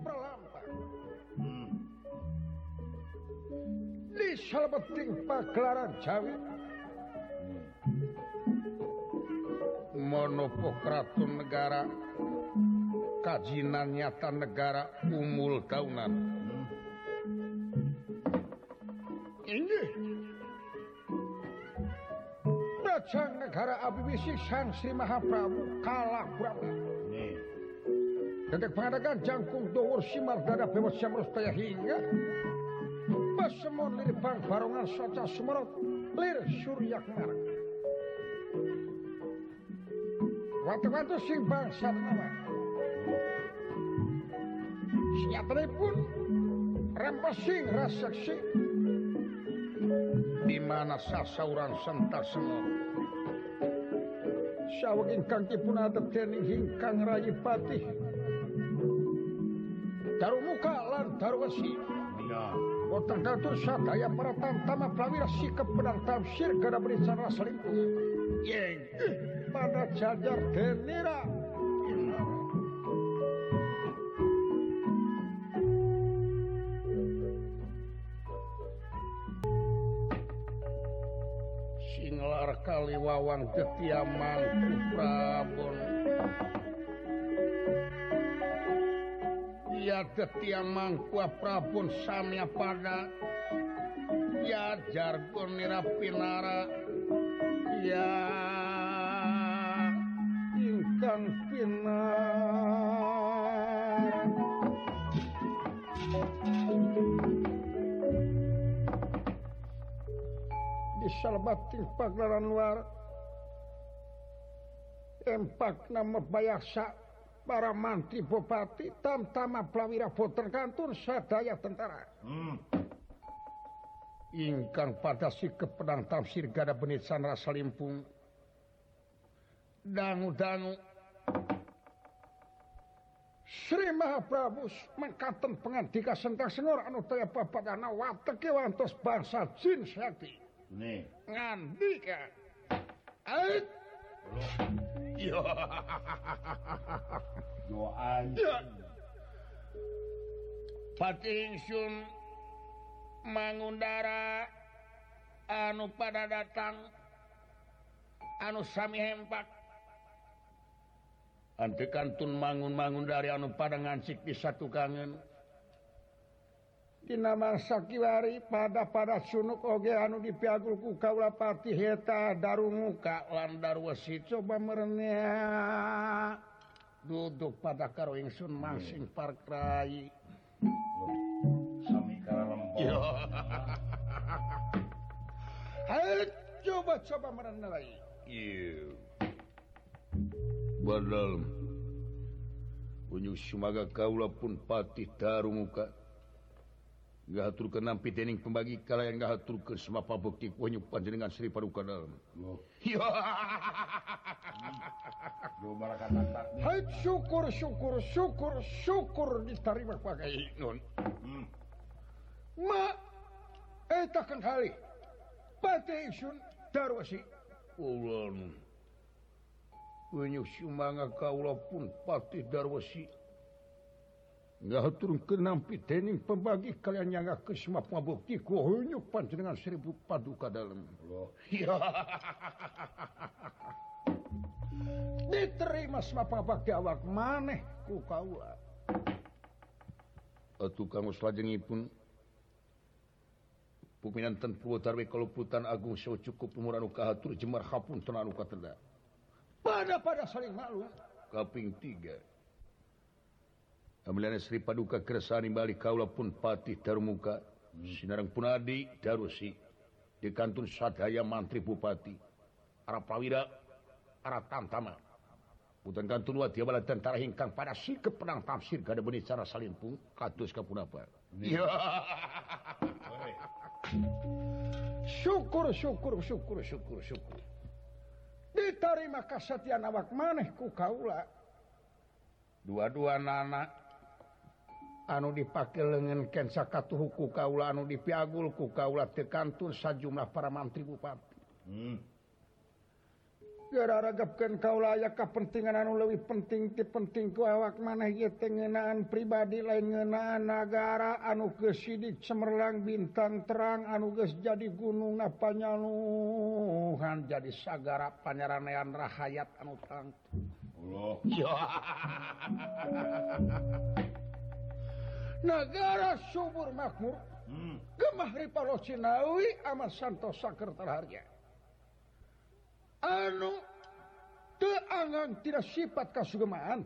pralampah. Di salebeting pagelaran Jawi monopo kratun negara kajinan nyata negara umul daunan inggih Praja negara Abibisi Sang Sri Mahaprabu Kalakurama Dedek pangadakan jangkung dhuwur simardana bewat samrustaya hingga pasemon lir bang barongan soca sumerot lir suryak marang watu-watu sing bangsa nama senyatanipun rempesing raseksi di mana sasauran sentak semua saweg ingkang dipun adat dening hingkang rayi patih Darumuka lan Darwesi boten katur sadaya para tantama prawira sikep pedang tafsir kada berencana selingkuh yeng pada jajar denira singlar kaliwawang ketiaman Prabon ya ketiaman Prabon samya pada ya jargon nirapinara ya ingkang pinar di salebating pagelaran luar empak nama bayasa para mantri bupati tamtama prawira boten kantun sadaya tentara ingkang pada sikep pedang tafsir gada benit sanra salimpung dangu-dangu Sri Mahaprabu mangkaten pangandika sentang sengur anu taya papadana wateke wantos bangsa jin sakti ngandika ait yo Pati ingsun mangundara anu pada datang anu sami hempak antekantun mangun-mangun dari anu pada ngancik di satu kangen dina mangsa kiwari pada sunuk oge anu dipiagul ku kaula pati heta darumuka lan Darwesi coba merenya duduk pada karo ingsun mangsing parkrai sami karalempong ayo coba merenya lagi badal unyu sumaga kaula pun pati darumuka ngahaturkeun nampi dening pembagi kalayan ngahaturkeun semapa bukti kunyu panjenengan Sri Paduka Dalem. Hai syukur diterima pakai nun. Ma eta kan kali pati ingsun Darwesi ulan kunyu sumaga kaula pun pati Darwesi ngahaturkeun nampi dening pembagi kalian nyanggakeun semapa bukti kunyu panjenengan Sri Paduka Dalem. Diterima semapa bakti awak maneh ku kaula. Atuh kanggo salajengipun puminanten Purwotarwi Kaluputan Agung saha cukup umur anu kahatur jemar hapunten anu kateda. Pada saling malu. Kaping 3 Amilana Sri Paduka kersani balik kaula pun patih darumuka sinareng punadi Darwesi di kantun sadaya mantri bupati ara prawira ara tamtama putan kantun wa tiabala tentara hingkang pada sikep pedang tafsir kada beuni cara salimpung kados kapunapa syukur diterima kasatian awak maneh ku kaula dua-dua anak anu dipake leungeun ken sakatuhu ku kaula anu dipiagul ku kaula teu kantun sajumlah para mantri bupati Gara-ragapkeun kaula aya kapentingan anu leuwih penting ti penting ku awak maneh ieu teh ngeunaan pribadi lain ngeunaan nagara anu geus sidik cemerlang bintang terang anu geus jadi gunung panyaluhan jadi sagara panyaranean rahayat anu tangtu. Allah. Negara subur makmur. Gemah ripalo Cinawi amat santosa keur terharja. Anu teu angan tidak sifat kasugemaan.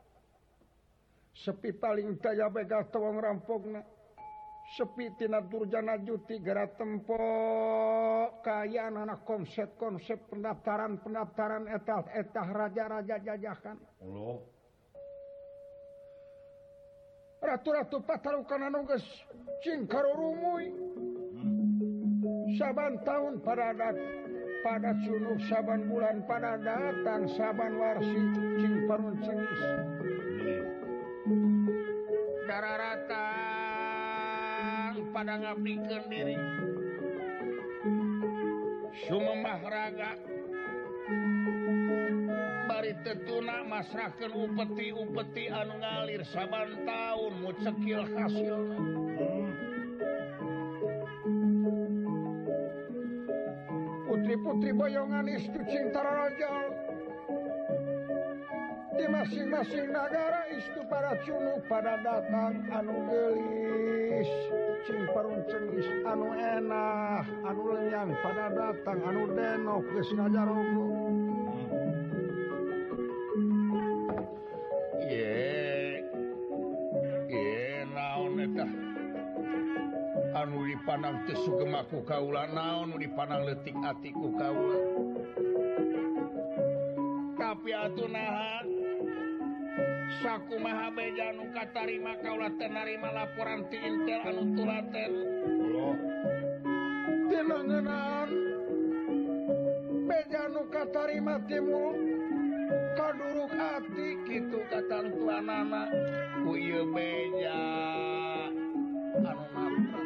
Sepi paling daya begal tewang rampogna. Sepi tina durjana juti gara tempo kayaan anak konsep pendaftaran etah raja-raja jajahan. Allah. Ratu-ratu patarukan anu geus cing karurumuy. Saban tahun pada sunuk saban bulan pada datang saban warsi cing parun cingis. Dararatang pada ngabdikeun diri. Sumemah raga bari tetuna masrahkeun upeti-upeti anu ngalir saban taun mucekil hasilna. Putri-putri boyongan istu cinta raja di masing-masing negara istu para cunuk pada datang anu gelis cing parun cengis anu enah anu lenyang pada datang anu denok geus ngajarogo. Naon eta anu dipandang teu sugema ku kaula naon anu dipandang leutik ati ku kaula. Tapi atunaha sakumaha beja anu katarima kaula teu narima laporan ti Intel anu tulaten. Tina ngeunaan beja anu katarima timu kaduruk ati kitu katantuanana ku ieu beja anu nabrak.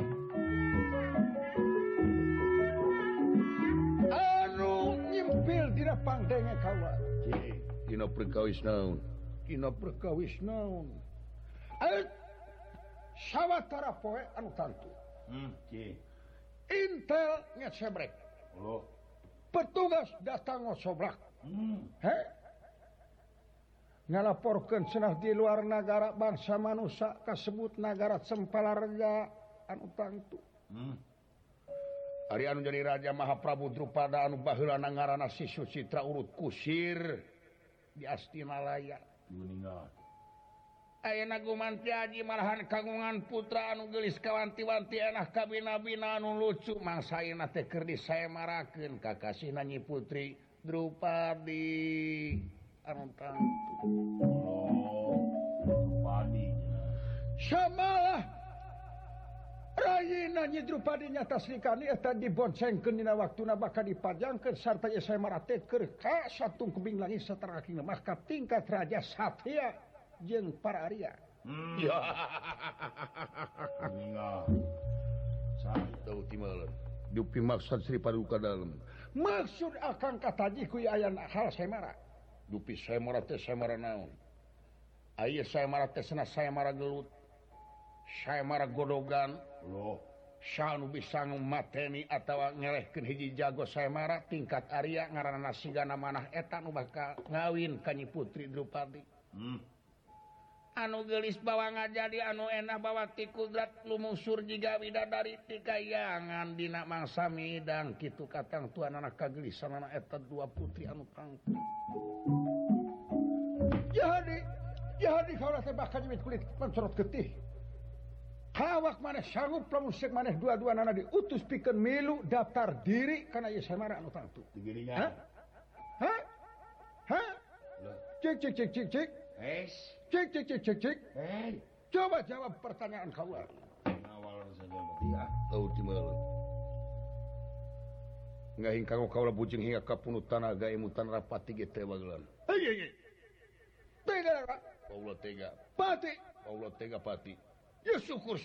Nyimpil dina pangdenge kaula. Dina perkawis naon? Dina perkawis naon? Sawatara poe anu tantu. Intel ngesebrek. Petugas datang ngosoblak. Ngalaporkeun cenah di luar negara bangsa manusia kasebut negara Cempalareja anu tangtu. Ari anu jadi Raja Mahaprabu Drupada anu baheula ngaranna Si Sucitra urut kusir di Astinalaya. Ayeuna gumanti aji malahan kagungan putra anu geulis kawanti-wanti enah kabina-bina anu lucu mangsa ayeuna teh keur disaemarakeun kakasihna Nyi Putri Drupadi anu tangtu. Drupadi. Samalah Rayina Nyi Drupadi nyata Srikani eta diboncengkeun dina waktuna bakal dipajangkeun sarta ieu saemaratekeun ka satung kubing langit sateragina mah ka tingkat Raja Satya jeung para Arya. Tahu timaleun. Dupi maksud Sri Paduka dalem. Maksud akang kataji ku aya hal saemara. Dupi saemara teh saemara naon? Aya saemara teh cenah saemara gelut. Saemara godogan. Sanu bisa mateni atawa ngelehkeun hiji jago saemara tingkat Arya ngaranna sigana manah eta nu bakal ngawin ka Nyi Putri Drupadi. Anu geulis bawa ngajadi anu enah bawa ti kudrat lumusur jiga widadari ti kayangan dina mangsa midang kitu katang tuanana kagelisanana eta dua putri anu tangtu. Jadi kaula teh bakal nyimit kulit pancorot getih. Hawak maneh sanggup lamun seuk maneh dua-duanana diutus pikeun milu daftar diri kana ieu saemara anu tangtu. Digirinya. Hah? Cik. Es. Cik. Coba jawab pertanyaan kaula. Awal saja ya. Tahu di mana. Ngahing kanggo kaula bujing hingga ka punut tanaga emutan rapati ge teh bagelan. Hei. Tega. Paula tega. Pati. Ya syukur.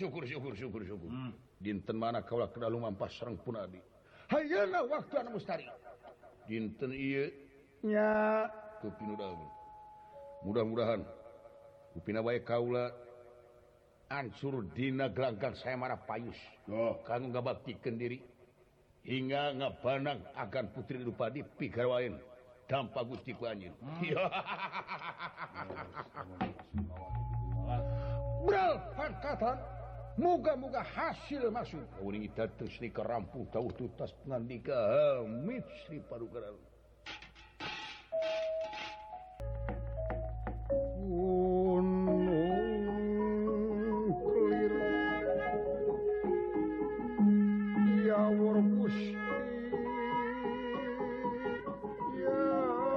Dinten mana kaula kedah lumampas sareng Punadi. Hayeuna waktu anu mustari. dinten ieu nya mudah-mudahan upina bae kaula ancur dina gelanggang saya marah payus kanggo ngabaktikeun diri hingga ngabanang agan putri Drupadi pigarwaen dampa Gusti ku anjeun. Bral pangkatan muga-muga hasil masuk. Uring kita terus ni kerampung tahu tutas pengandika amit Sri Padukaran. Gunung Kelir ya War Gusti ya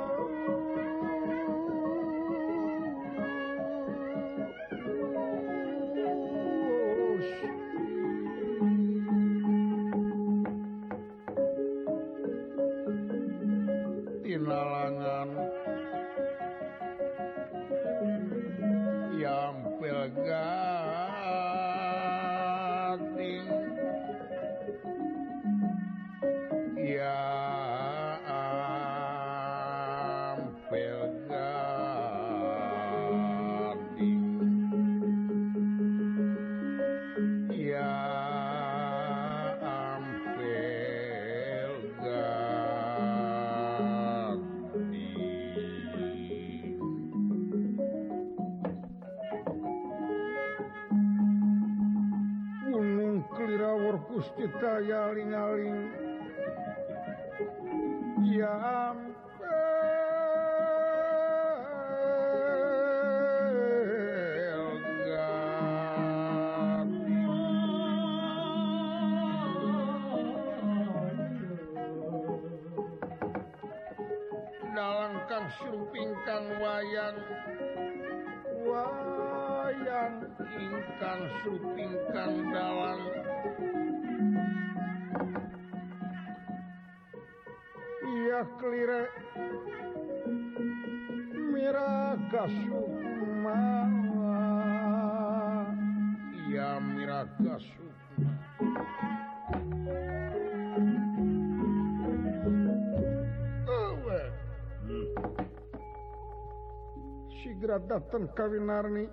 tinalangan yampil gading ya ampil gading ya ampil gading Gunung Klirawur Gusti Daya aling-aling ya ampel dalang kang surupingkang wayang ingkang surupingkang dalang iya kelire miraga sukma iya miraga sukma sigra datang kawinarni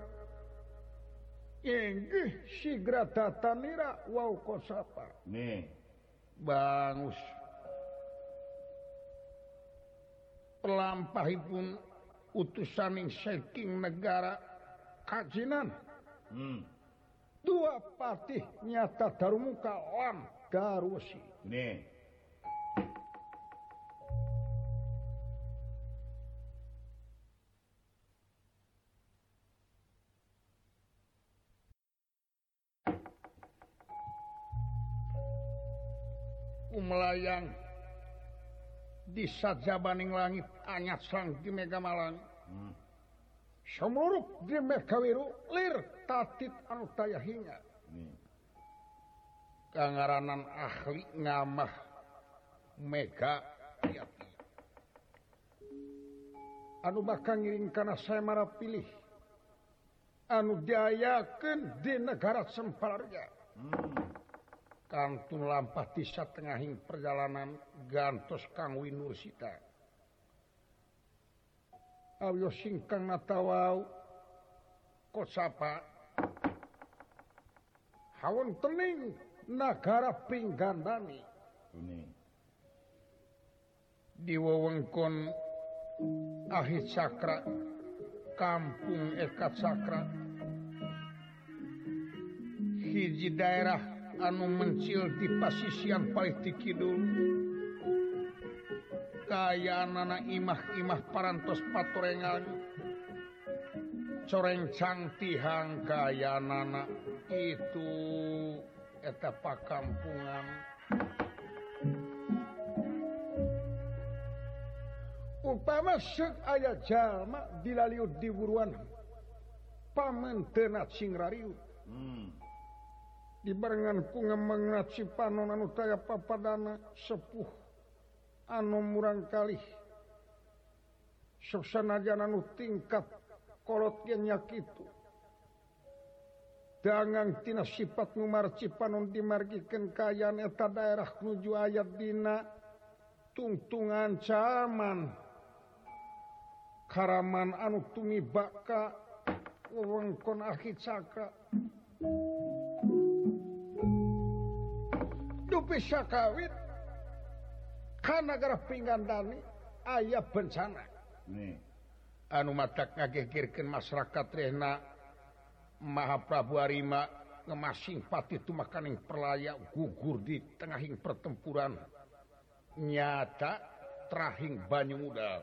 inggih sigra datanira wau kosapa nih bangus pelampahipun utusaning saking negara kajinan dua patih nyata Darumuka lan Darwesi nih melayang di sajabaning langit anyat sang di Megamalang semuruk di Megawiru lir tatit anu daya hinga kangaranan ahli ngamah Mega Yati anu bakal ngiring kana saya marah pilih anu diayakeun di negara Semparga kantun lampah di satengahing perjalanan gantos Kang Winursita ayo singkang natawau kosapa hawon tening nagara Pinggandani di wewengkon Ahit Sakra kampung Ekat Sakra hiji daerah anu mencil di pasisian Paliti Kidul kayanana imah-imah parantos patorengan coreng cangtihang kayanana itu eta pakampungan upama seuk aya jalma dilaliud di buruan pamenteuna cingrariut dibarengan ku ngemengna Cipanon anu taya papadana sepuh anu murang kalih sok sanajan anu tingkat kolot ge nya kitu dangang tina sifat numar Cipanon dimargikeun kayaan eta daerah nuju ayat dina tungtungan zaman Karaman anu tumibaka wewengkon Akhi Cakra dupi sakawit ka nagara Pinggandani aya bencana anu matak ngagegirkeun masyarakat rehna Mahaprabu Arima ngemasing pati tumakaning perlaya gugur di tengahing pertempuran nyata terahing banyu muda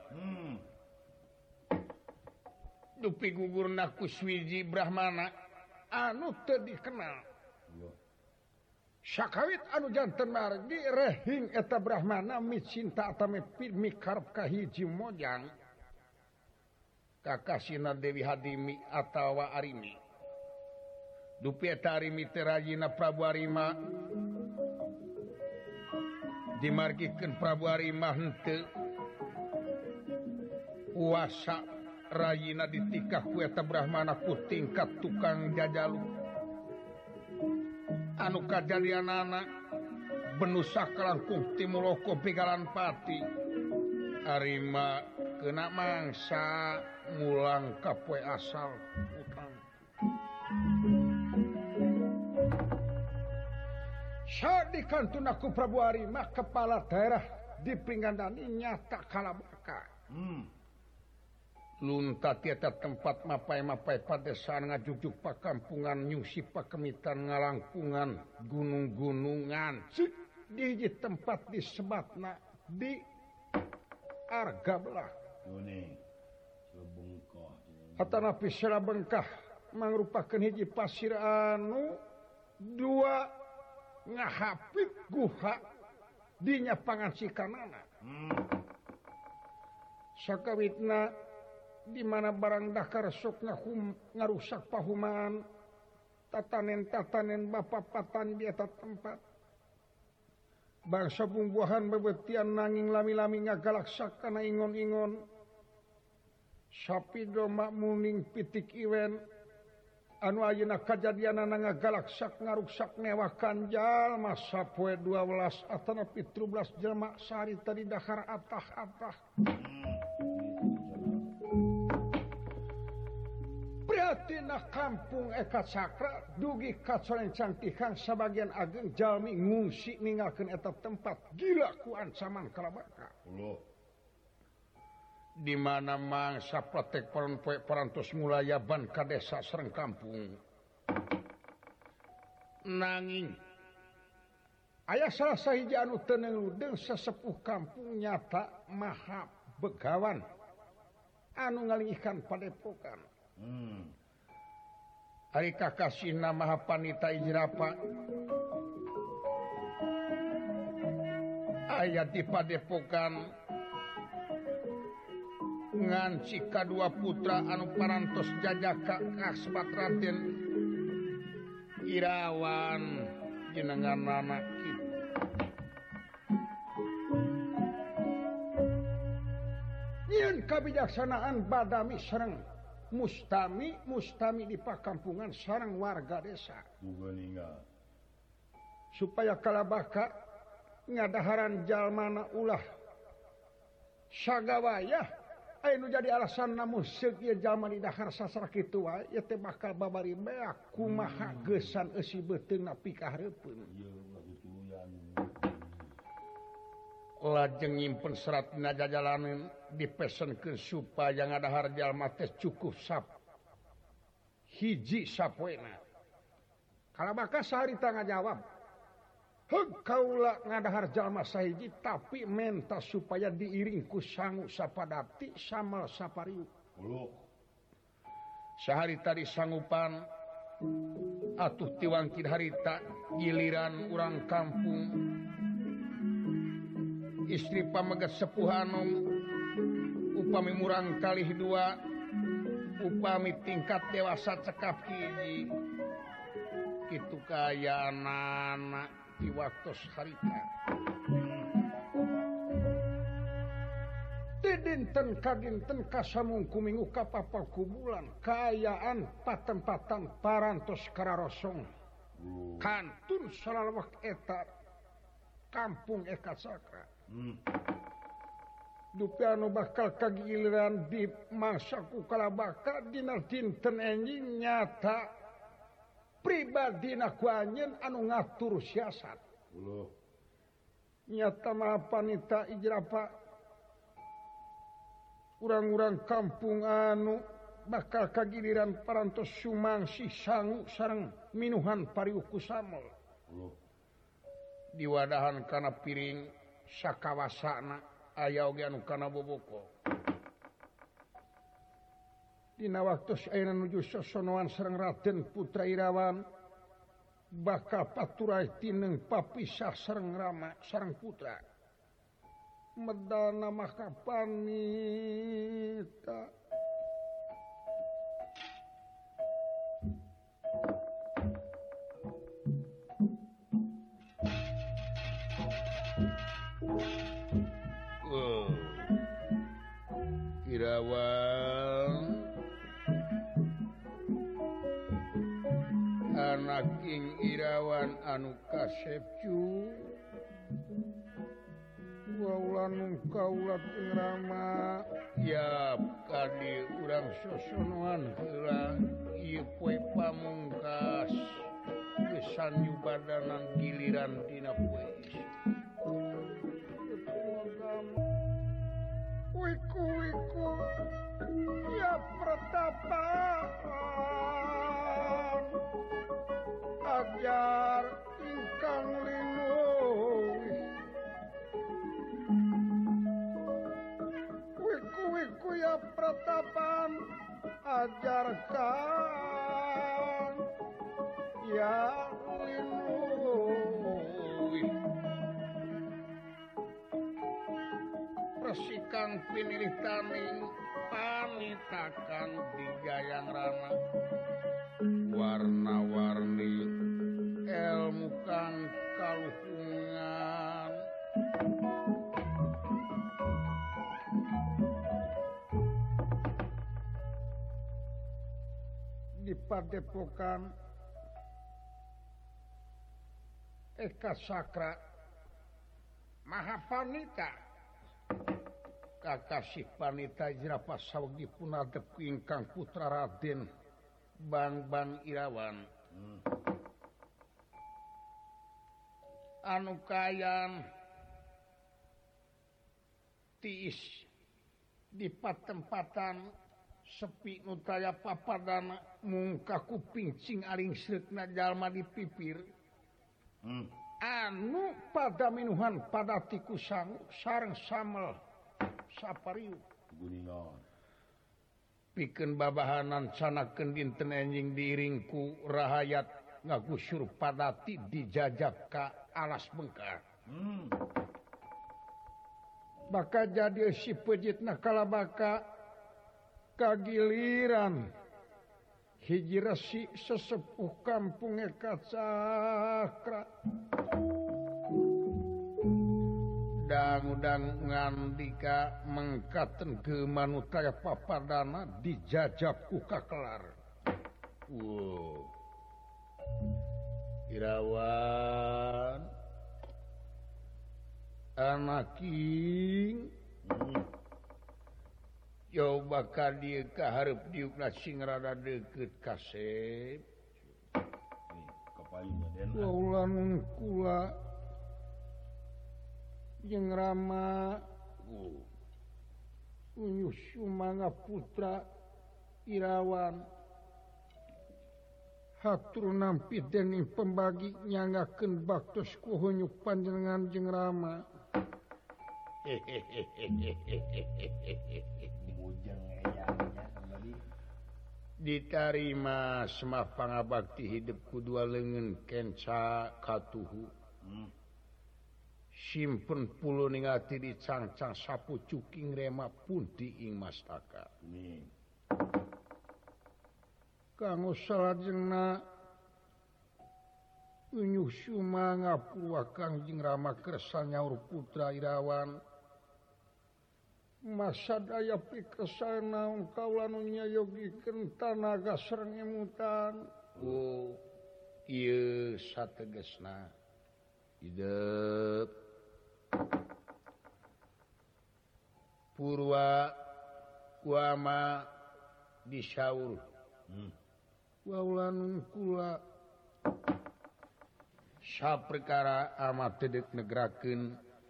dupi gugurna Kuswiji Brahmana anu teu dikenal sakawit anu janten margi rehing eta Brahmana micinta atame mikarep ka hiji mojang kakasina Dewi Hadimi atawa Arimi dupi eta Arimi teh rajina Prabu Arima dimargikeun Prabu Arima henteu puasa rayina ditikah ku eta Brahmana ku tingkat tukang jajalu anu kajadianana benusa kalangkung timuloko pigalan pati Arima kena mangsa ngulang ka poe asal utang saat dikantun aku Prabu Arima kepala daerah di Pinggandani nyata kalabaka lunta tieta tempat mapai-mapai padesaan ngajujuk pakampungan nyusi pakemitan ngalangkungan gunung-gunungan di hiji tempat disebatna di Arga belah hatanapi sira bengkah mangrupakeun hiji pasir anu dua ngahapit guha dinya pangancikanana sakawitna di mana barang dakar sok ngarusak pahuman tatanen-tatanen bapapatan di eta tempat bangsa bumbuahan bebetian nanging lami-lami ngagalaksak kana ingon-ingon sapi domba muning pitik iwen anu ayeuna kajadianana ngagalaksak ngaruksak newakan jalma sapoe 12 atanapi 13 jelma sarita di dahar atah-atah prihatina kampung Eka Cakra dugi kacolencang tihang sabagian ageng jalmi ngungsi ninggalkeun eta tempat gila ku ancaman kalabaka di mana mangsa protek poe parantos mulayaban ka desa sareng kampung nanging aya salah sahiji anu teu neuleudeung sesepuh kampung nyata maha begawan anu ngalingihkan padepokan ari kakasihna Mahapanita Ijrapa aya di padepokan nganci kadua putra anu parantos jajaka kasbat Raden Irawan jenenganana kitu nyieun kabijaksanaan badami sareng mustami di pakampungan sareng warga desa supaya kalabaka ngadaharan jalmana ulah sagawayah anu jadi alasan namun sekieu jalma di dahar sastra kitu wae ieu teh bakal babari beak kumaha geusan eusi beuteungna pikahareupeun lajeng nyimpen serat dina jajalaneun dipesenkeun supaya ngadahar jalma teh cukup hiji sapoena kalabaka saharita ngajawab heug kaula ngadahar jalma sahiji tapi menta supaya diiring ku sangu sapadapti samal sapariuk saharita disangupan atuh tiwangkid harita giliran urang kampung istri pamegat sepuh anom upami murang kalih dua upami tingkat dewasa cekap hiji kitu kaya anak di waktu harita dinten kadinten kasamungku minggu kapapal kubulan kayaan patempatan parantos kararosong kantun salalawak eta kampung Eka Cakra Dupiano bakal kagiliran di mangsaku kalabaka dina dinten enjing nyata pribadina ku anjeun anu ngatur siasat. Nyata mah panita ijrapa urang-urang kampung anu bakal kagiliran parantos sumangsi sangu sareng minuhan pariuku samol. Diwadahan kana piring sakawasana aya oge anu kana boboko. Dina waktos ayeuna nuju sosonoan sareng Raden Putra Irawan bakal paturai tineng papisah sareng Rama sareng putra. Medana maka panita Irawan anak King Irawan anu kasepcu waulan kaulat ing Rama ya kadi urang sosonoan heula ieu poe pamungkas gesan nyubadanan giliran dina poe wiku ya pertapaan ajar ingkang linuh wiku ya pertapaan ajarkan ya linuh resikan pinilih taning panitakan di gayang rana warna-warni ilmu kang kaluhungan di padepokan Eka Sakra Mahapanita kakasih panita jerapah sawegi punadep ingkang putra Raden Bang Irawan anu kayan tiis di patempatan sepi nutaya papadana mungka kuping cing aring sreukna jalma dipipir anu pada minuhan pada tiku sangu sareng samel sapariuk guningan pikeun babahanan canakeun dinten enjing diiringku rahayat ngagusur padati dijajak ka alas bengkar baka jadi si pejitna kalabaka kagiliran hiji resi sesepuh kampung Eka Sakra dang-dang ngandika mengkaten ke manutaya papadana dijajab ku kakelar. Irawan anak King coba ka dieu kaharep diukna sing rada deukeut kasep kapayuna den ulan kula jeung Rama unyuh sumangga putra Irawan hatur nampi dening pembagi nyanggakeun baktos ku hunyuk panjenengan jeung Rama bujang eyangnya kembali ditarima semah pangabakti hidup kudua leungeun kenca katuhu simpen pulo ning ati dicangcang sapu cuking rema punti ing mastaka kanggo salajengna unyuh sumangga purwakang jeung Rama kersa nyaur putra Irawan masa daya pikesana kaula nu nyayogikeun tanaga sareng emutan ieu sategesna hidup Purwa wama disyaur waulanun kula saperkara amat tedek negrakeun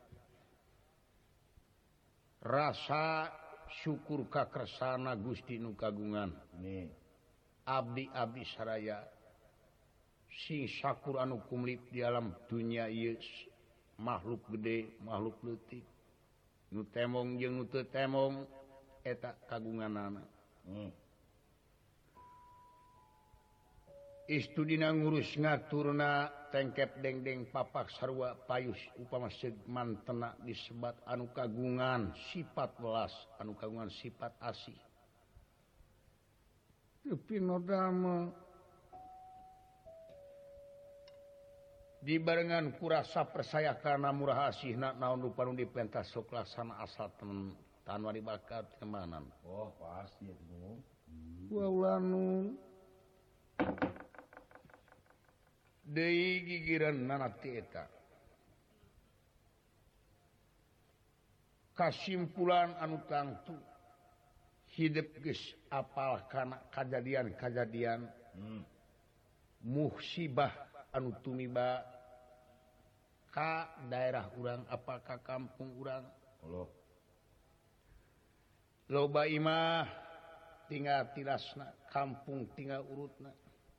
rasa syukur kakresana Gusti nu kagungan abdi saraya sing sakur anu kumlip di alam dunia ieu makhluk gede makhluk leutik nu temong jeung nu teu temong eta kagunganana istudina ngurus ngaturna tengkep dengdeng papak sarua payus upama segmantena disebat anu kagungan sifat welas anu kagungan sifat asih pinodama dibarengan kurasa persaya karena murah asihna naon rupa nu dipentas sok laksana asal tanpa dibakar kemanan pasti itu waulanu deui gigireun nanati eta kasimpulan anu tangtu hidup geus apal kana kajadian-kajadian musibah anu tumiba ka daerah urang apa ka kampung urang loba imah tinggal tilasna kampung tinggal urutna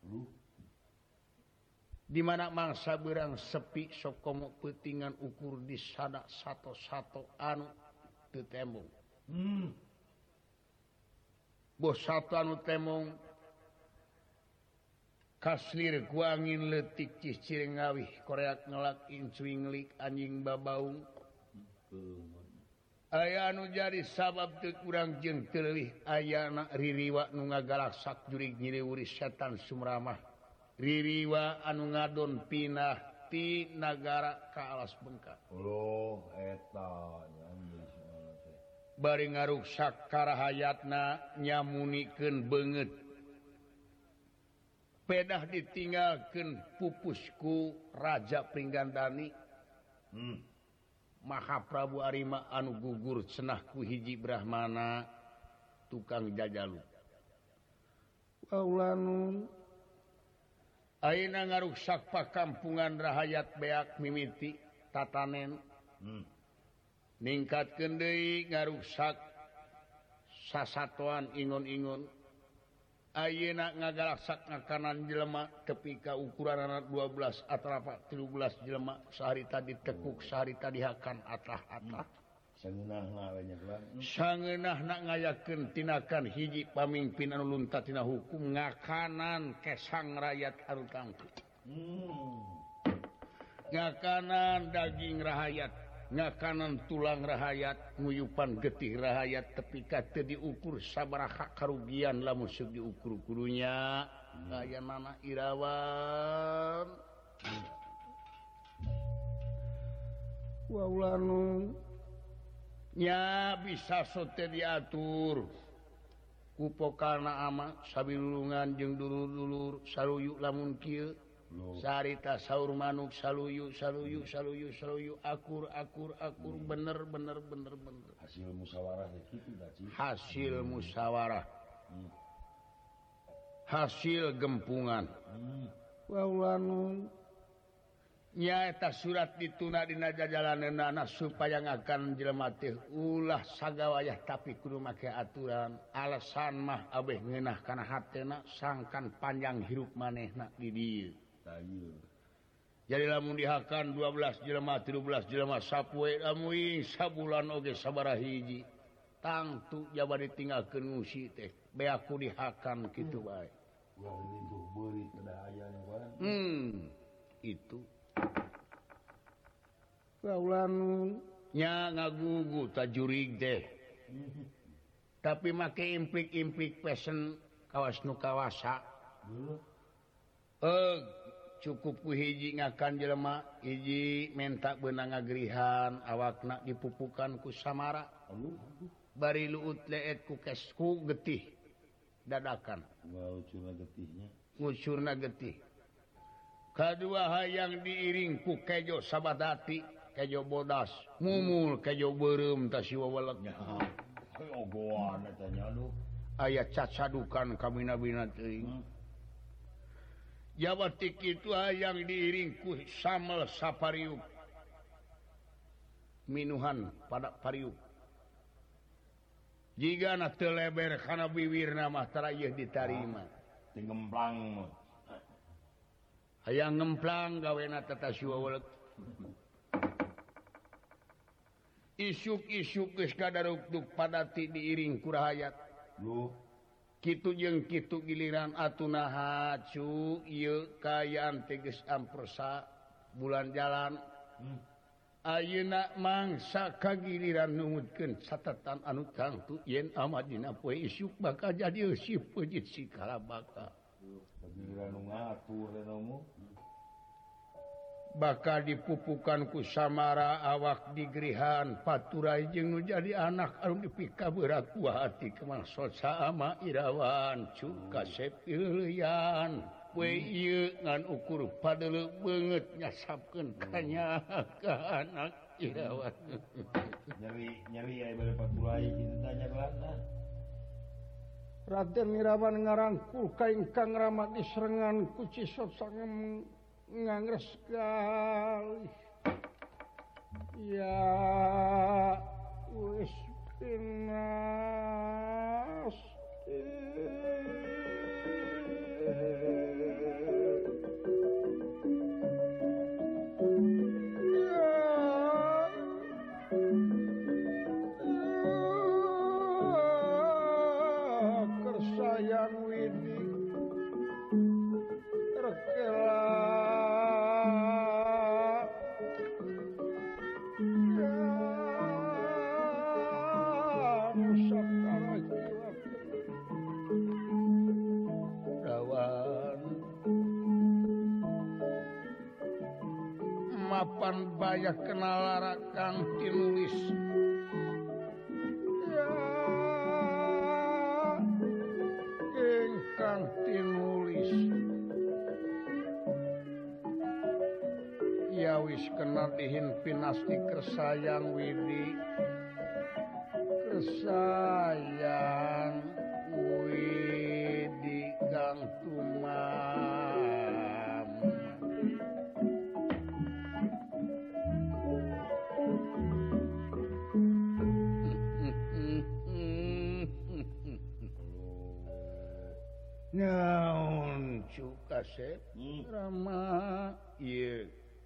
di mana mangsa berang sepi sok komo peutingan ukur di sana sato-sato anu teu tembong bos satu anu tembong kaslir ku angin leutik cicir ngawih koreak ngelak incuing nglik anjing babaung aya anu jadi sabab teu urang jeung teu leuwih ayana ririwa nu ngagalaksak jurig nyiliwuri setan sumramah ririwa anu ngadon pinah ti nagara ka alas bengkak eta bari ngaruksak karahayatna nyamunikeun beungeut pedah ditinggalkeun pupusku Raja Pringgandani Mahaprabu Arima anu gugur cenah ku hiji brahmana tukang jajalu waulanu ayeuna ngaruksak pakampungan rahayat beak mimiti tatanen ningkatkeun deui ngaruksak sasatoan ingon-ingon ayeuna ngagalaksak ngakanan jelema tepi ka ukuranna 12 atrapa 13 jelema saharita ditekuk saharita dihakan atah-atah sangeunahna ngayakeun tinakan hiji pamingpin anu lunta tina hukum ngakanan kesang rakyat anu tangtu ngakanan daging rahayat ngakanan tulang rahayat nguyupan getih rahayat tepi ka teu diukur sabaraha karugian lamun seug diukur kudunya ayeunana irawan waulanu nya bisa sote diatur kupokana ama sabilulungan jeung dulur-dulur saluyu lamun kieu sarita saur manuk saluyu akur bener hasil musyawarah hasil gempungan waulanu nyaeta surat dituna dina jajalaneunana supaya ngakan jelema teh ulah sagawayah tapi kudu make aturan alasan mah abeh ngeunah kana hatena sangkan panjang hirup manehna di dieu jadi lamun dihakan 12 jelema 13 jelema sapoe lamun sabulan oge sabaraha hiji tangtu jaba ditinggalkeun ngusi teh beaku dihakan kitu bae itu kaulanu nya ngagugu tajurig teh tapi make implik-implik pesen kawas nu kawasa cukup ku hiji ngakan jelema hiji menta beunang ngagrihan awakna dipupukan ku samara bari luut leet ku kesku getih dadakan ngucurna getih kadua hayang diiring ku kejo sabadati kejo bodas mumul kejo beureum ta siwa welek ogoan tanya aduh aya cacadukan kamina-bina teuing jabat ti kitu hayang diiring ku samel sapariuk minuhan pada pariuk jigana teu leber kana biwirna mah tara ieu ditarima ngemplang hayang ngemplang gawena tata siwa welek isuk-isuk geus kadarukduk padati diiring ku rahayat lu kitu jeung kitu giliran atunaha cu ieu kayaan teh geus ampersa bulan jalan ayeuna mangsa kagiliran numutkeun catatan anu tangtu yen amat dina poe isuk bakal jadi si peujit si kalabaka giliran nu ngatur renomu bakal dipupukan ku samara awak digerihan paturai jeung nu jadi anak anu dipika berat ku hati kemaksud sama irawan cu kasep ieuyan we ieu ngan ukur padele beungeut nyasapkeun kanya ka anak irawan nyeri aya bade paturai kitu tanya kelana Raden Irawan ngarangkul ka ingkang ramat diserengan ku Cisot sangem ngangres sekali ya wis pinas kersayang widi rekela mapan banyak kenal larakan tinulis ingkang tinulis ya wis kenal dihin pinasti kersayang widi kersayang widi kang tumam naon cu kasep rama ieu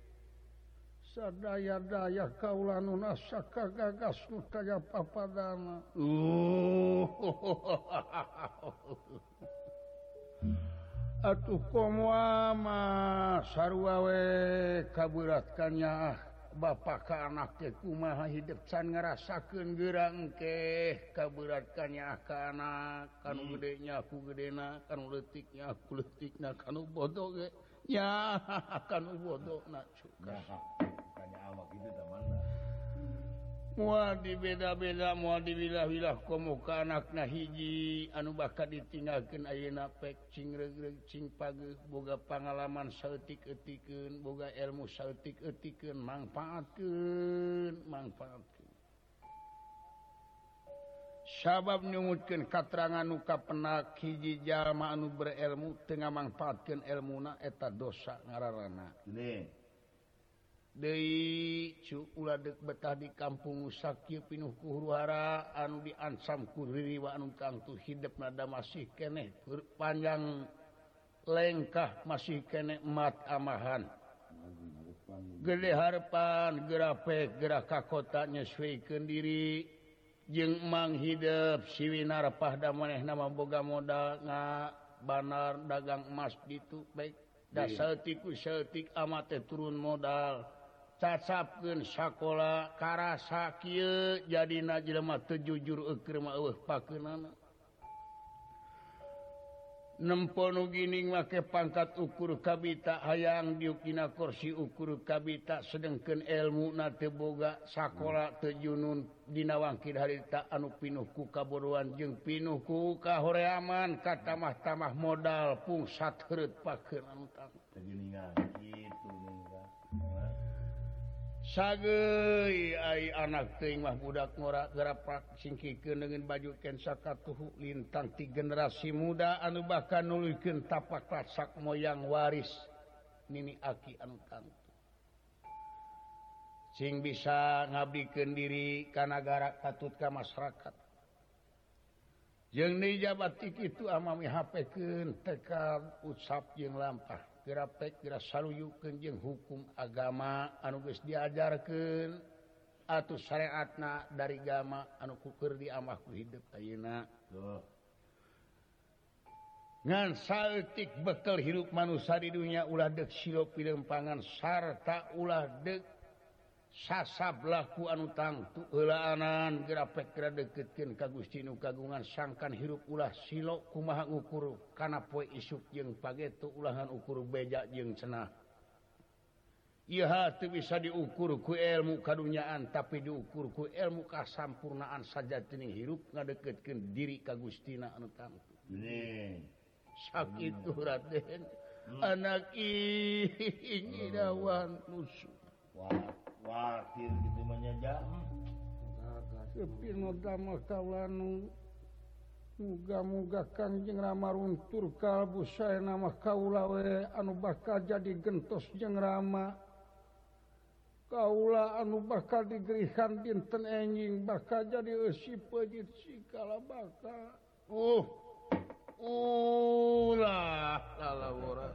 sadaya-daya kaula nu nasa kagagas nu kaya papadana atuh komoa mah sarua we kaberat kanya bapak ka anak teh kumaha hidup can ngarasakeun geurang engke kaberat kanya ka anak kanu gede nya ku gedena kanu leutiknya ku leutikna kanu bodoh ge nya kanu bodohna cukas kanya awak itu tamanda moal dibeda-beda moal diwilah-wilah komo ka anakna hiji anu bakal ditinggalkeun ayeuna pek cing regreg cing pageuh boga pangalaman saeutik-eutikeun boga ilmu saeutik-eutikeun mangpaatkeun sabab nyungutkeun katerangan nu kapenak hiji jalma anu berilmu teu ngamangpaatkeun ilmuna eta dosa ngaranna deui cu ulah deuk betah di kampung rusak kieu pinuh ku huru-hara anu diansam ku ririwa anu tangtu hidupna da masih keneh panjang lengkah masih keneh mat amahan gede harapan gerapek gerak ka kota nyesuaikeun diri jeung mang hidup siwina repah da manehna mah boga modal banar dagang emas ditu baik da saeutik ku saeutik amat teh turun modal cacapkeun sakola karasa kieu jadina jelema teu jujur eukeur mah eueuh pakeunana nempo nu gining make pangkat ukur kabita hayang diuk dina kursi ukur kabita sedengkeun ilmuna teu boga sakola teu junun dina wangkid harita anu pinuh ku kabodohan jeung pinuh ku kahoreaman ka tamah-tamah modal pungsat heureut pakeun anu tang tegeningan kitu Sage anak teuing mah budak ngora gerapak singkikeun dengan baju ken sakatuhu lintang ti generasi muda anu bakal nuluykeun tapak rasak moyang waris nini aki anu tangtu. Sing bisa ngabdikeun diri ka nagara katut ka masyarakat. Jeung deui jabat ti kitu amami hapekeun tekad ucap jeung lampah. Gerapek geura saluyukeun jeung hukum agama anu geus diajarkeun atuh syariatna dari agama anu keur diamah ku hidup ayeuna. Ngan saeutik bekel hirup manusia di dunia ulah deuk silo pilempangan sarta ulah deuk sasab laku anu tangtu heulaanan gerapek geura deuketkeun ka Gusti nu kagungan sangkan hirup ulah silo kumaha ngukur kana poe isuk jeung pageto ulahan ukur beja jeung cenah. Ieu teu bisa diukur ku ilmu kadunyaan tapi diukur ku ilmu kasampurnaan sajatining hirup ngadeukeutkeun diri ka Gustina anu tangtu. Sakitu Raden. Anak ing dawan nusu. Wakil gitu menyaja. Sepi no damel kawanu. Muga-muga Kangjeng Rama runtur kalbu saena mah kaula we anu bakal jadi gentos jeung Rama. Kaula anu bakal digerihan dinten enjing bakal jadi eusi peujit sikala bakal. Ulah lalawurat.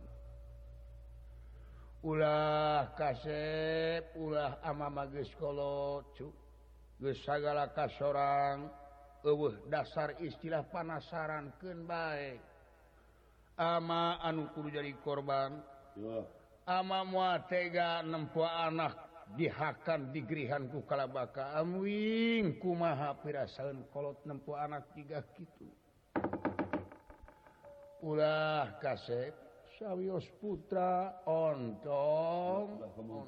Ulah kasep, ulah amama geus kolot, geus sagala kasorang, eueuh dasar istilah panasarankeun bae. Ama anu kudu jadi korban, ama moal tega nempoa anak dihakan digerihan ku kalabaka, amuing kumaha pirasaeun kolot nempoa anak tiga kitu. Ulah kasep. Sawios putra ontong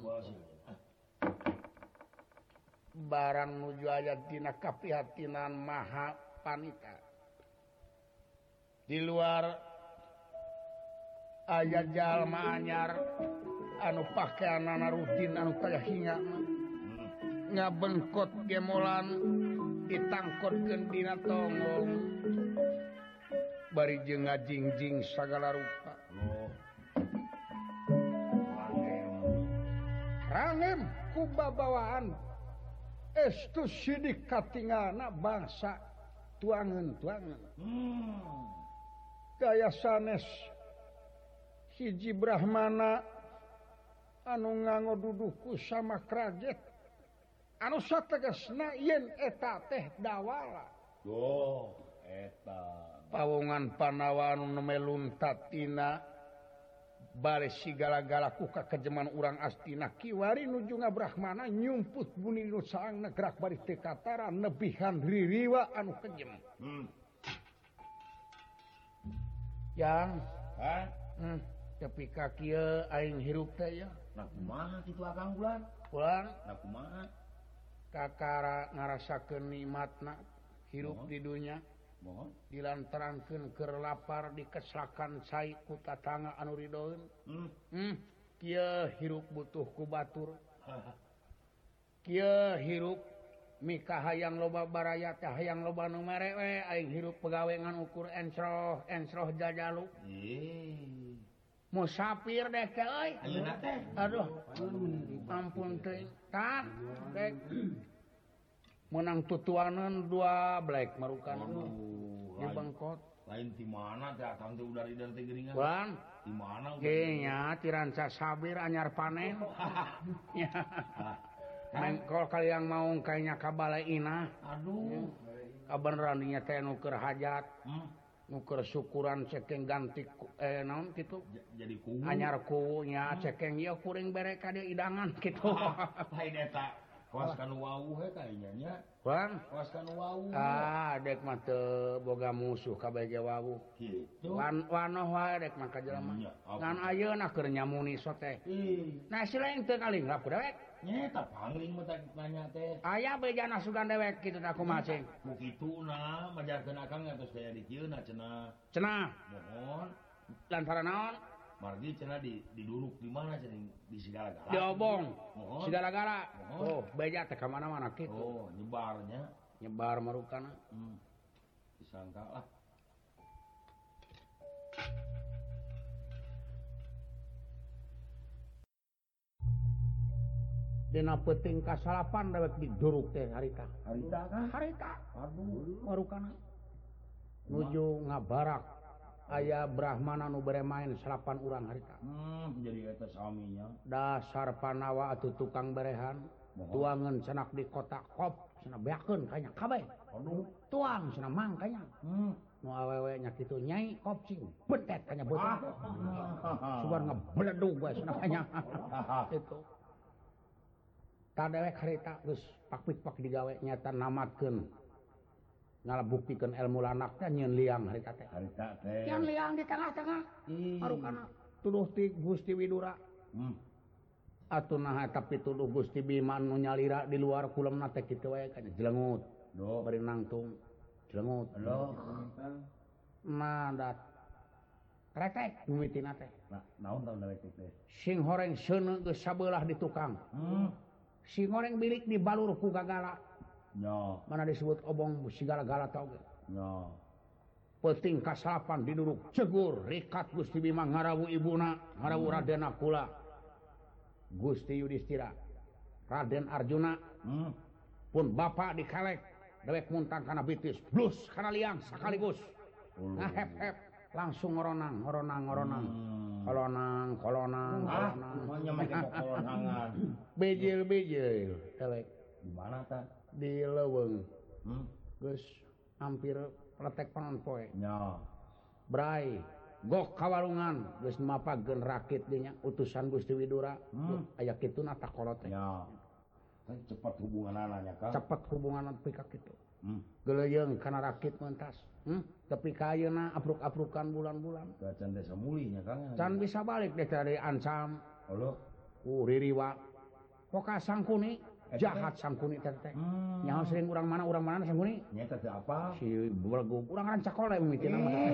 barang nuju ayat dina kapihatinan maha panita di luar ayat jalma anyar anu pakeanana rutin anu kaya hinga ngabengkot gemolan ditangkotkeun dina tongong bari jeung ngajingjing sagala rupa. Rangem kubabawaan estu sidik katinggalna bangsa tuangan-tuangan. Gaya sanes hiji Brahmana anu nganggo duduhku sama krajet anu sategasna yen eta teh dawala. Eta pawongan Panawa anu nemelun tatina bari sigala-gala ku kakejeman urang astina kiwari nuju Brahmana nyumput buni nu saangna gerak bari teu katara nebihan ririwa anu kejem. Yang tapi ka kieu aing hirup teh ya. Nah kumaha kitu Akang Bulan? Bulan Nah kumaha? Kakara ngarasakeun nikmatna hirup di dunya. Mohon Dilantarankeun keur lapar dikeslakan cai ku tatangga anu ridoeun. Kieu hirup butuh ku batur. Kieu hirup mika hayang loba baraya teh hayang loba nu mere we aing hirup pegawe ngan ukur ensroh jajalu. Musafir deh teh euy. ayeuna teh Aduh. Ampun teuing. Tah, dek. Menang tutuanan 2 black marukan di Bangkot. Lain di mana teh Akang teh udah ridar teh geuningan. Bang, Di mana? nya tiranca sabir anyar panen. Ya. Mengkol kalian mau kayaknya kabalai inah. Aduh. Kabeneran dinya teh nu keur hajat. Nu keur syukuran cekeng ganti naon kitu. Jadi kuwu. Anyar kuwunya cekeng ieu kuring bere ka dieu idangan kitu. Lain eta. Kawas kanu wawuh he kayaknya nya. Bang, Kawas kanu wawuh. dek mah teu boga musuh kabeh ge wawuh. Kitu. Wanoh wae dek mah ka jelema. Iya, apa? Ngan ayeuna keur nyamuni so teh. Nah si lain teu kalinggap ku dewek. Nyeta pangling mah tak nanya teh. Aya bejana sugan dewek kitu teh kumaha cing. Mu kituna majarkeun Akang ngatos daya di kieu na cenah. Cenah Mohon. lantaran naon? Margi cenah diduduk di mana cenah di segala-gala. Diobong. Mohon. Segala-gala. Mohon. Oh, beja teh ka mana-mana kitu. Oh, nyebarnya. Nyebar marukana. Disangka lah. Dina peuting kasalapan dewek diduruk teh harita. Harita kah? Harita. Aduh. Marukana. Nuju ngabarak aya Brahmana nu bere main salapan urang harita. Jadi eta saminya. Dasar panawa atuh tukang berehan. Tuangan cenak di kota kop cenah beakeun kanya kabeh. Aduh. Tuang cenah mang kanya. Nu awewe nya kitu nyai kop sing betet kanya beuteung. Sugan ngebledug we cenah kanya. Itu. Tadewek harita geus pakpik-pak digawe nyata namatkeun. Ngalabuktikeun ilmu lanakna nyieun liang harita teh. Harita teh. Yang liang di tengah-tengah. Marukana tuduh ti Gusti Widura. Atuh nah tapi tuduh Gusti Bima nu nyalira di luar kulemna teh kitu wae kan jlengut. Do bari nangtung jlengut. Halo. Nah dat kretek mimitina teh. Nah, naon tahu dari teh? Sing horeng seuneu geus sabelah di tukang. Sing horeng bilik di balur ku gagala. Nya. Mana disebut obong sigala-gala tau ge. Nya. Peuting kasalapan diduduk cegur rikat Gusti Bima ngarawu ibuna, ngarawu Raden Nakula. Gusti Yudhistira, Raden Arjuna, pun bapak dikalek, dewek muntang kana bitis, blus kana liang sakaligus. Ngahep-hep, langsung ngoronang. Kolonang. Semuanya make kolonangan. Bejil, dewek. Di mana ta? Di leuweung. Geus hampir letek panon poe. Nya. Brai, gok kawalungan geus mapageun rakit dinya utusan Gusti Widura. Aya kituna takolot teh. Nya. Cepat hubunganana nya Kang. Cepet hubungan pika kitu. Geleyeung kana rakit mentas. Tapi ka ayeuna apruk-aprukan bulan-bulan. Can desa mulinya Kang. Can bisa balik deh dari ancam. Halo. Ririwa. Poka Sangkuni jahat Sangkuni teh teh. Nyaho sering urang mana Sangkuni? Nya teh apa? Si Belgu urang rancakole mimitina mah teh.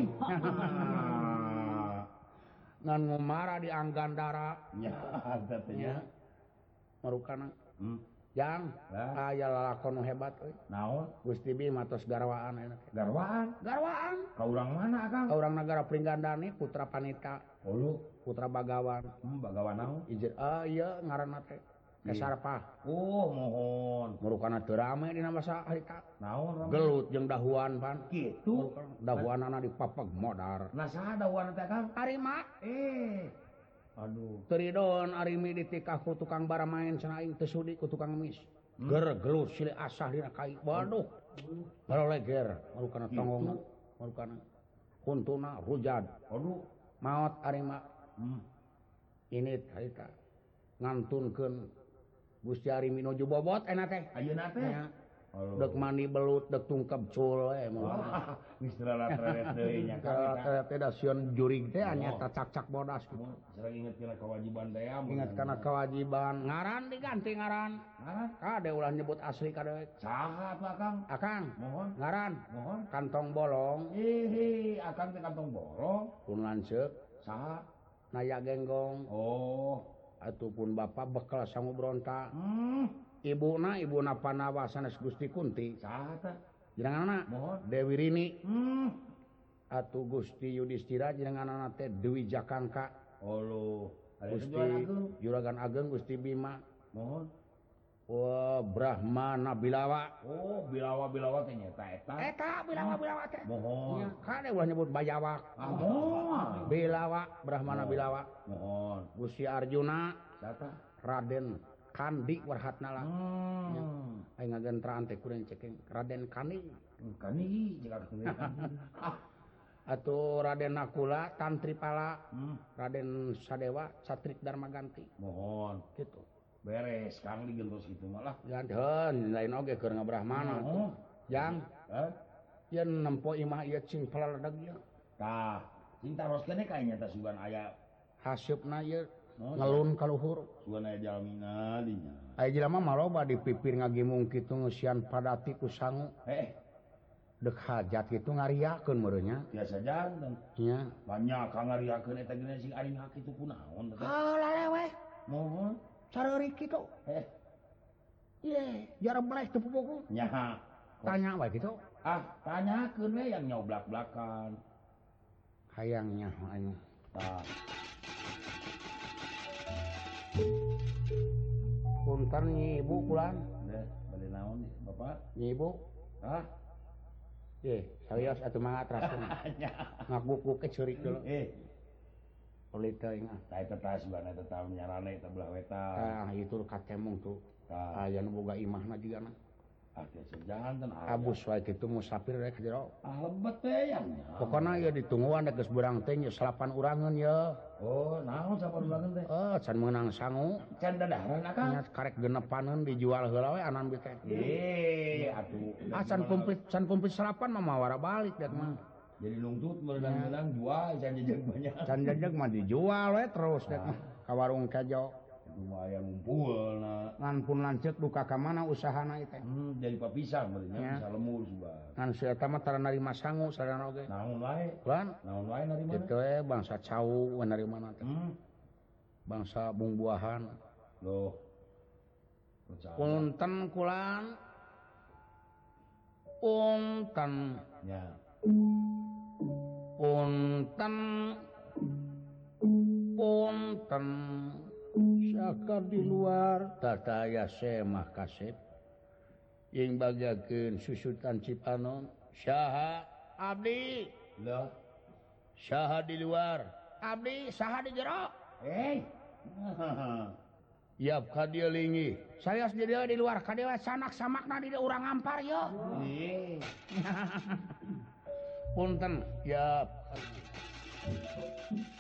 Ngan ngumara di Anggandara. Nya ada teh nya. Marukana. Jang, aya lalakon nu hebat euy. Naon? Gusti Bima tos garwaan enak. Garwaan. Garwaan. Ka urang mana Kang? Ka urang nagara Pringgandani Putra Panita. Hulu. Putra Bagawan. Bagawan naon? Ieu ieu ngaranna teh. Kesarpah. Oh, mohon. Marukana teu rame dina masa harita. Naon rame? Gelut jeung dahuan pan. Kitu. Dahuanana dipapeg modar. Nah saha dahuan teh Kang? Arima. Aduh. Teridon arimi ditikah ku tukang baramain cenah aing teu sudi ku tukang emis. Gelut silih asah dina kai. Waduh. Baloleger marukana tongongna. Marukana kuntuna rujad. Aduh. Maot arima. Ini harita ngantunkeun Gusti Arimi nuju bobot enak teh. Ayeuna teh. Dek mandi belut, dek tungkep cul we moal. Geus treret deui nya Kang. Teh da sieun jurig teh anya cak-cak bodas gitu. Sareng inget kana kewajiban teh ya. Ingat kana kewajiban. Ngaran diganti ngaran. Ngaran? Kade ulah nyebut asli kadewek. Saha atuh Kang? Akang. Mohon. Ngaran. Mohon. Kantong bolong. Akang teh kantong bolong. Pun lanceuk. Saha? Naya genggong. Oh. Atuh pun bapak bekal sangu bronta. Ibuna Panawa sanes Gusti Kunti. Saha teh? Jenenganna Mohon. Dewi Rini. Atuh Gusti Yudhistira jenenganna teh Dewi Jakangka. Halo. Gusti Juragan Ageng Gusti Bima. Mohon. Wah, Brahmana Bilawa. Oh, Bilawa teh nyata eta. Eta Bilawa teh. Mohon. Kade ulah nyebut Bayawak. Mohon. Bilawa, Brahmana Bilawa. Mohon. Gusti Arjuna, Sata. Raden Kandi Warhatnala. Aing ngagentraan teh kuring ceking Raden Kandi. Kani jika Atuh Raden Nakula, Tantripala, Raden Sadewa, Satrik Darmaganti. Mohon. Gitu. Beres Kang digentos kitu mah lah. Ganteun lain oge keur ngabrahmana. Jang. Yen nempo imah ieu cing palaledeg ieu. Tah, cinta ros kene kayaknya teh sugan aya Hasyupna ieu ngelun ka luhur. sugan aya jalmina dinya. Aya jelema mah loba dipipir ngagimung kitu ngeusian padati ku sangu. dek hajat gitu ngariakeun meureunnya. Biasa jantan. Nya. Banyak kang ngariakeun eta geus sing ari hak itu kunaon teh. Lalewe. Mohon. Sareurik kitu. Ye, jarang beres teu pupuku. Nya. Tanya wae kitu. Tanyakeun we yang nyoblak-blakan. Hayangnya aing. Tah. Punten Nyi Ibu pulang. Bade naon Bapak? Nyi Ibu. Sarios atuh mangga teraskeun. Ngaguk-guk ke ceurik deuleu. Oli teuing ah. Tah eta tah sibana eta tah nyarane eta belah wetan. Tah itu katemung tuh. Aya nu boga imahna jigana. Biasa jantan. Abus wae kitu musafir rek jero. Lebet teh yang. Pokona ieu ditungguan rek geus beurang teh nya 8 urangeun ya. Oh, naon 8 urangeun teh? Can meunang sangu. Can dadaran akang. Nya karek genepaneun dijual heula we anan bi teh. Atuh. Can komplit sarapan mah mawara balik dat mah. Jadi nungtut meunang jual can jejeg banyak. Can jejeg mah dijual we terus dat mah ka warung kejo. Lumayan ngumpulna. Ngan pun lanceuk duka ka mana usahana ieu teh. Jadi papisah beulnya bisa lemur suba. Ngan si eta mah tara narima sangu sarana oge. Naon wae? Lan, naon wae narima? Kitu we bangsa cau we narimana teh. Bangsa bung-buahan. Loh. Punten kulan. Punten. Ya. Punten. Punten. Sakar di luar tataya semah kasep yang bagakeun susutan Cipanon saha abdi Loh. saha di luar abdi saha di jero Yap ka dieu lingi saya di dieu di luar ka dieu sanak samakna di dieu urang ngampar yo punten yap